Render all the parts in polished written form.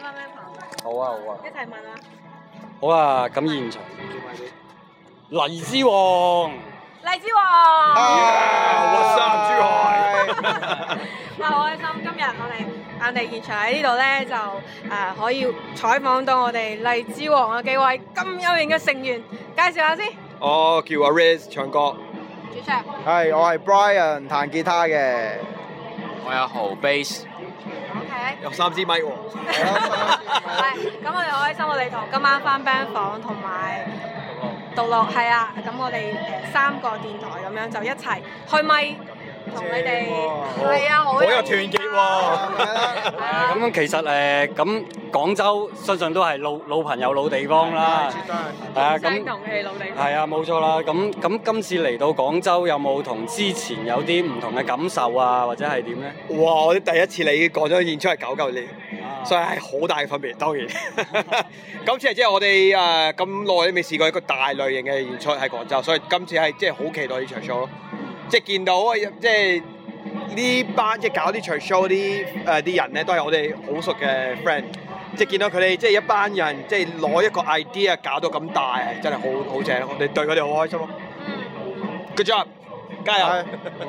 翻咩棚？ 好啊好啊， 一齊問啊！ 好啊，咁現場黎之王， 荔枝王， What's up，珠海？ 哇！好開心，今日我哋現場喺呢度咧，就可以採訪到我哋荔枝王嘅幾位咁有型嘅成員，介紹下先。 我叫阿 Riz 唱歌， 主唱。 係，我係 Brian 彈吉他嘅。 我有豪 bass， OK。 有3支咪喎。 係，咁我哋好開心，我哋同今晚翻 band 房同埋獨樂係啊，咁我哋3個電台咁樣就一齊開咪。同你哋係啊，好有團結喎。 咁其實咁廣州相信都係老朋友老地方啦，係啊，咁同嘅老地方。 係啊，冇錯啦。咁今次嚟到廣州，有冇同之前有啲唔同嘅感受啊，或者係點咧？ 哇！我哋第一次嚟廣州演出係99年，所以係好大嘅分別。當然，今次係即係我哋咁耐都未試過一個大類型嘅演出喺廣州，所以今次係即係好期待呢場 show 咯。即係見到即係呢班即係搞呢場 show 啲人咧，都係我哋好熟嘅 friend。即係見到佢哋即係一班人，即係攞一個 idea 搞到咁大，係真係好正。我哋對佢哋好開心咯。Good job，加油！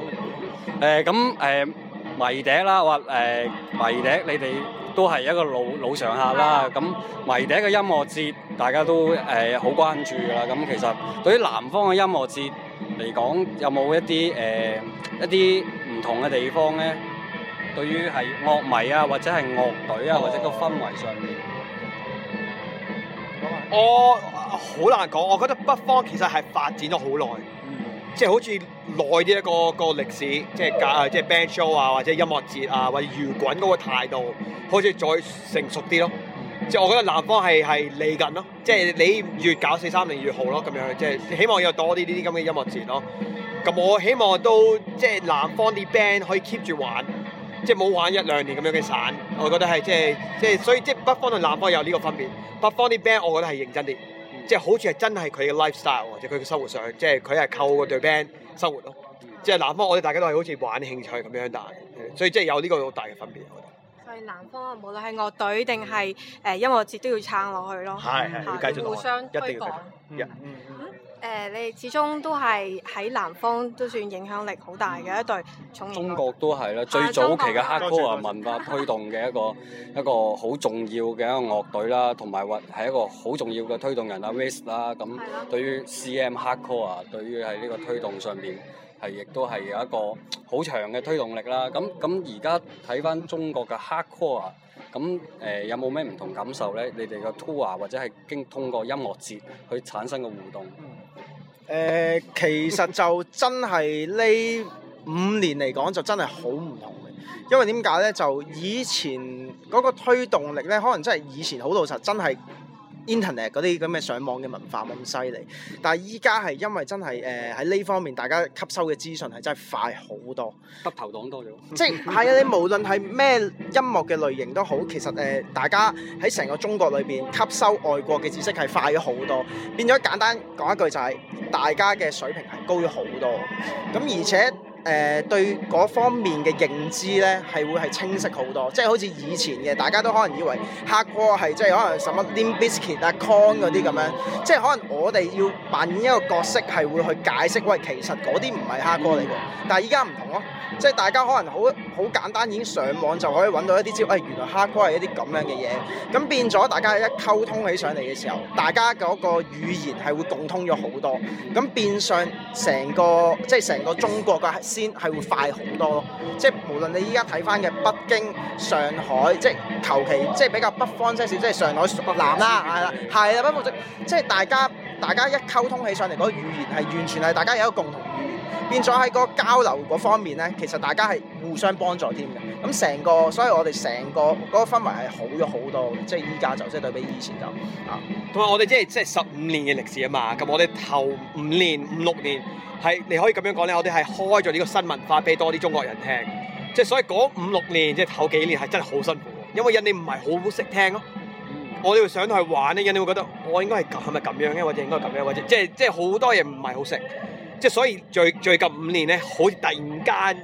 迷笛啦，迷笛你哋都係一個老常客啦。咁迷笛嘅音樂節，大家都好關注㗎啦。咁其實對於南方嘅音樂節嚟講，有冇一啲唔同嘅地方咧？對於係樂迷啊，或者係樂隊啊，或者個氛圍上面， 我好難講。我覺得北方其實係發展咗好耐，即係好似耐啲一個歷史，即係 band show 啊，或者音樂節啊，或者搖滾嗰個態度，好似再成熟啲咯。即係我覺得南方係嚟緊咯，即係你越搞430越好咯，咁樣即係希望有多啲呢啲咁嘅音樂節咯。咁我希望都即係南方啲 band 可以 keep 住玩，即係冇玩1-2年咁樣嘅散。我覺得係即係所以即係北方同南方有呢個分別。北方啲 band 我覺得係認真啲，即係好似係真係佢嘅 lifestyle 或者佢嘅生活上，即係佢係靠嗰隊 band 生活咯。即係南方我哋大家都係好似玩興趣咁樣大，所以即係有呢個好大嘅分別。 所以南方無論係樂隊定係音樂節都要撐落去咯， 係繼續互相推廣。你哋始終都係喺南方都算影響力好大嘅一隊重型樂隊。 中國都係啦，最早期嘅hardcore文化推動嘅一個好重要嘅一個樂隊啦，同埋或係一個好重要嘅推動人啊 Riz 啦。咁對於 CM hardcore 啊，對於喺呢個推動上邊係亦都係有一個好長嘅推動力啦。咁而家睇翻中國嘅 hardcore 啊，咁有冇咩唔同感受咧？你哋嘅 tour 或者係通過音樂節去產生嘅互動？ 其實就真係呢5年嚟講就真係好唔同嘅，因為點解咧？就以前嗰個推動力咧，可能真係以前好老實，真係 internet 嗰啲咁嘅上網嘅文化冇咁犀利。但係依家係因為真係喺呢方面，大家吸收嘅資訊係真係快好多， 得頭黨多咗。 即係啊！你無論係咩音樂嘅類型都好，其實大家喺成個中國裏邊吸收外國嘅知識係快咗好多，變咗簡單講一句就係、大家嘅水平係高咗好多。咁而且對嗰方面嘅認知咧係會係清晰好多，即係好似以前嘅大家都可能以為 hardcore 係即係可能什麼 Limp Bizkit 啊 Korn 嗰啲咁樣，即係可能我哋要扮演一個角色係會去解釋，喂，其實嗰啲唔係 hardcore 嚟嘅，但係依家唔同咯，即係大家可能好簡單已經上網就可以揾到一啲招，原來 hardcore 係一啲咁樣嘅嘢，咁變咗大家一溝通起上嚟嘅時候，大家嗰個語言係會共通咗好多，咁變相成個中國嘅先係會快好多咯，即係無論你依家睇翻嘅北京、上海，即係求其即係比較北方些少，即係上海、北南啦，係啦，不過即係大家一溝通起上嚟嗰個語言係完全係大家有一個共同語言，變咗喺個交流嗰方面咧，其實大家係互相幫助添嘅。咁所以我哋成個嗰個氛圍係好咗好多嘅，即係依家就即係對比以前就同埋我哋即係15年嘅歷史啊嘛，咁我哋頭5年、5-6年係你可以咁樣講咧，我哋係開咗呢個新文化俾多啲中國人聽，即係所以嗰5-6年即係頭幾年係真係好辛苦，因為人哋唔係好識聽咯。我哋會上去玩咧，人哋會覺得我應該係咪咁樣嘅，或者應該咁樣，或者即係好多嘢唔係好識，即係所以最近5年咧，好似突然間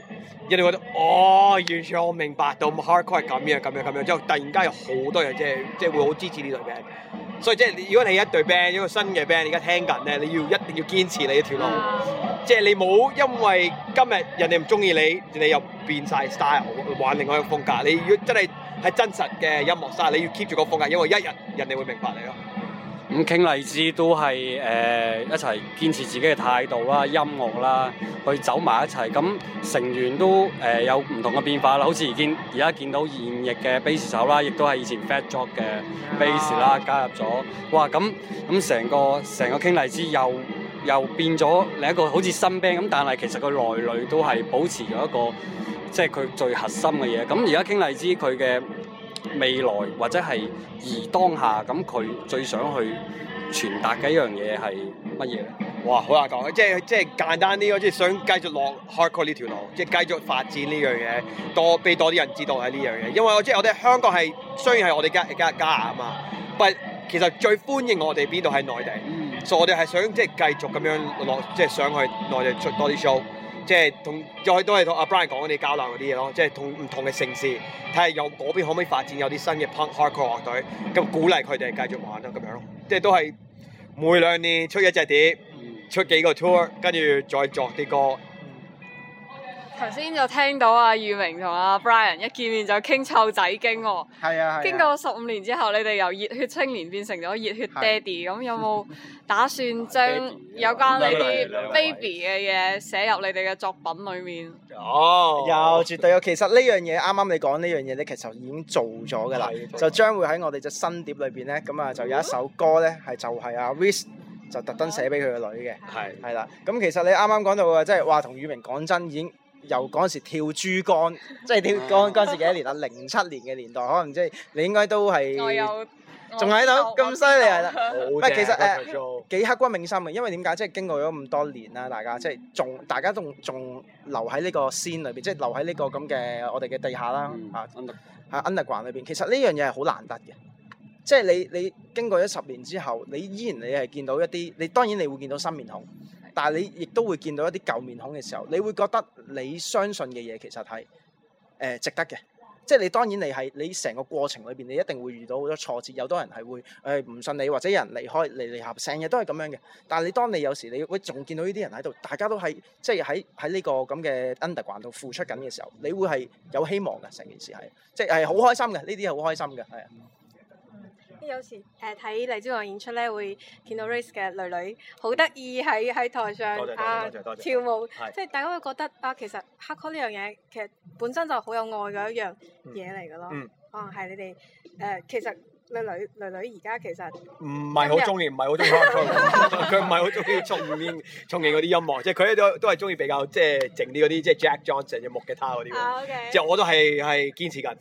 人哋覺得哦，完全我明白到 hardcore 係咁樣，之後突然間有好多人即係會好支持呢隊 band。所以即係如果你一隊 band 一個新嘅 band，你而家聽緊咧，你一定要堅持你一條路。即係你冇因為今日人哋唔中意你又變晒 style 玩另外一個風格。你如果真係真實嘅音樂 style，你要 keep 住個風格，因為一日人哋會明白你咯。 咁傾荔枝都係一齊堅持自己嘅態度啦、音樂啦，去走埋一齊。咁成員都有唔同嘅變化啦，好似而家見到現役嘅 bass 手啦，亦都係以前 Fat Jock 嘅 bass 啦加入咗。哇！咁成個傾荔枝又變咗另一個好似新 band 咁，但係其實個內裏都係保持咗一個即係佢最核心嘅嘢。咁而家傾荔枝佢嘅未來或者係當下，咁佢最想去傳達嘅一樣嘢係乜嘢咧？ 哇，好難講，即係簡單啲咯，即係想繼續落 hardcore 呢條路，即係繼續發展呢樣嘢，俾多啲人知道係呢樣嘢。因為我哋香港係雖然係我哋家啊嘛，但其實最歡迎我哋邊度係內地，所以我哋係想即係繼續咁樣落，即係想去內地出多啲 show。即係都係同阿 Brian 講嗰啲交流嗰啲嘢咯，即係同唔同嘅城市睇下有嗰邊可唔可以發展有啲新嘅 punk hardcore 樂隊，咁鼓勵佢哋繼續玩咯咁樣咯。即係都係每兩年出一隻碟，出幾個 tour， 跟住再作啲歌。 頭先就聽到阿宇明同阿 Brian 一見面就傾湊仔經喎。 係啊。 經過15年之後，你哋由熱血青年變成咗熱血爹哋，咁有冇打算將有關呢啲 baby 嘅嘢寫入你哋嘅作品裡面？ 有絕對有。其實呢樣嘢啱啱你講呢樣嘢咧，其實已經做咗㗎啦，就將會喺我哋隻新碟裏邊咧，咁啊就有一首歌咧係就係阿 Riz 就特登寫俾佢個女嘅。係啦。咁其實你啱啱講到啊，即係話同宇明講真已經。由嗰陣時跳珠江，即係跳嗰陣時幾多年啊？07年嘅年代，可能即係你應該都係仲喺度咁犀利係啦。唔係其實幾刻骨銘心嘅，因為點解？即係經過咗咁多年啦，大家即係大家仲留喺呢個 scene 裏邊，即係留喺呢個咁嘅我哋嘅地下啦underground 裏邊。其實呢樣嘢係好難得嘅，即係你經過咗10年之後，你依然係見到一啲，你當然你會見到新面孔。但係你亦都會見到一啲舊面孔嘅時候，你會覺得你相信嘅嘢其實係值得嘅。即係你當然你成個過程裏邊，你一定會遇到好多挫折，有多人係會唔信你，或者有人離開離合，成日都係咁樣嘅。但係你當你有時你會仲見到呢啲人喺度，大家都係即係喺呢個咁嘅 underground 度付出緊嘅時候，你會係有希望嘅。成件事係即係好開心嘅，呢啲係好開心嘅，係啊。 有時睇荔枝樂演出咧，會見到 Riz 嘅女好得意喺台上跳舞，即係大家會覺得啊，其實 hardcore 呢樣嘢其實本身就好有愛嘅一樣嘢嚟㗎咯。可能係你哋其實女而家其實唔係好中意 hardcore， 佢唔係好中意重型嗰啲音樂，即係佢都係中意比較即係靜啲嗰啲，即係 Jack Johnson 嘅木吉他嗰啲。即係我都係堅持緊。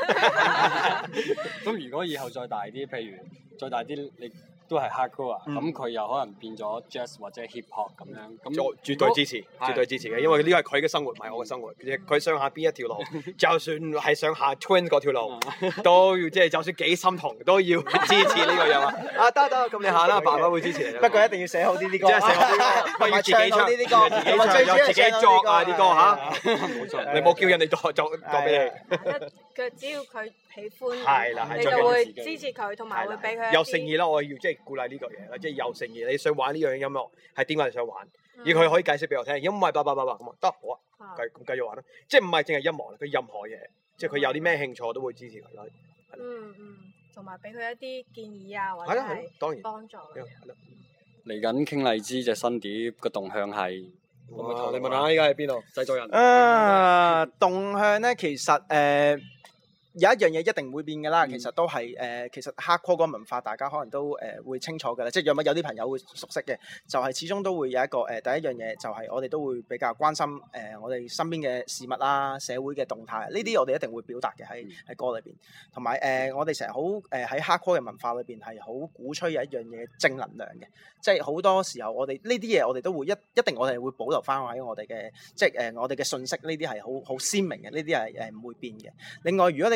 咁如果以後再大啲，譬如再大啲，你都係 hardcore 啊，咁佢又可能變咗 jazz 或者 hip hop 咁樣，咁絕對支持，絕對支持嘅，因為呢個係佢嘅生活，唔係我嘅生活。佢想下邊一條路，就算係想下 Twins 嗰條路，都要即係就算幾心痛，都要支持呢個人啊！得，咁你下啦，爸爸會支持你。 不過一定要寫好啲歌， 即係寫好啲歌，不要自己唱呢啲歌，自己作啊啲歌嚇。冇錯，你冇叫人哋作俾你。 只要佢喜歡，你就會支持佢，同埋會俾佢有誠意啦。我要即係鼓勵呢個嘢啦，即係有誠意。你想玩呢樣音樂係點解你想玩？而佢可以解釋俾我聽，因為爸咁啊得好啊，繼續玩啦。即係唔係淨係音樂，佢任何嘢，即係佢有啲咩興趣我都會支持佢咯。 同埋俾佢一啲建議啊，或者係幫助。 嚟緊傾荔枝隻新碟個動向係。 你問下依家喺邊度？製作人動向咧，其實有一樣嘢一定會變嘅啦，其實都係其實 hardcore 嗰個文化，大家可能都會清楚嘅啦。即係有啲朋友會熟悉嘅，就係始終都會有一個第一樣嘢，就係我哋都會比較關心我哋身邊嘅事物啦、社會嘅動態，呢啲我哋一定會表達嘅喺歌裏邊。同埋我哋成日好喺 hardcore 嘅文化裏邊係好鼓吹有一樣嘢正能量嘅，即係好多時候我哋呢啲嘢我哋都會一定我哋會保留翻喺我哋嘅即係我哋嘅信息，呢啲係好鮮明嘅，呢啲係唔會變嘅。另外如果你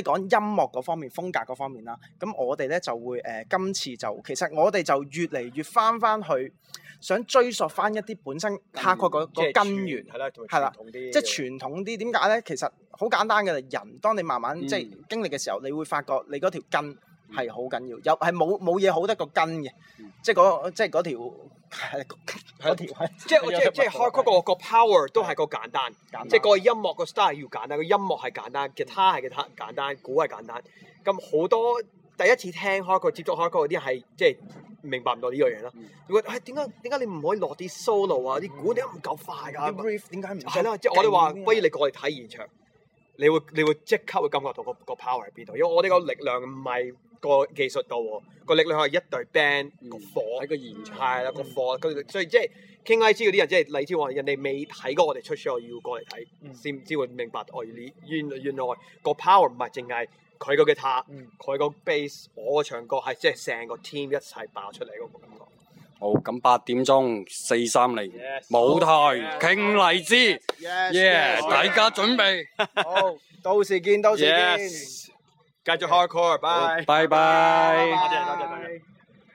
講音樂嗰方面、風格嗰方面啦。咁我哋咧就會今次就其實我哋就越嚟越翻去，想追溯翻一啲本身 hardcore 個根源，係啦，即係傳統啲。點解咧？其實好簡單嘅，人當你慢慢即係經歷嘅時候，你會發覺你嗰條根係好緊要，有係冇嘢好得個根嘅，即係嗰條。即係 hardcore 個 power 都係個簡單，即係個音樂個 style 要簡單，個音樂係簡單，吉他係簡單，鼓係簡單。咁好多第一次聽 hardcore 接觸 hardcore 嗰啲係即係明白唔到呢樣嘢啦。會覺得點解你唔可以落啲 solo 啊？啲鼓點解唔夠快㗎？啲 riff 點解唔係啦？即係我哋話，不如你過嚟睇現場，你會即刻會感覺到個 power 喺邊度？因為我哋個力量唔係個技術度喎，個力量係一隊 band 個火喺個現場，係啦個火，所以即係傾 IG 嗰啲人，即係例如話人哋未睇過我哋出 show，要過嚟睇先至會明白哦，原來個 power 唔係淨係佢個吉他，佢個 bass， 我個唱歌係即係成個 team 一齊爆出嚟嗰個感覺。好，咁8點鐘430舞台傾荔枝，大家準備好，到時見。繼續 hardcore，拜拜。多謝。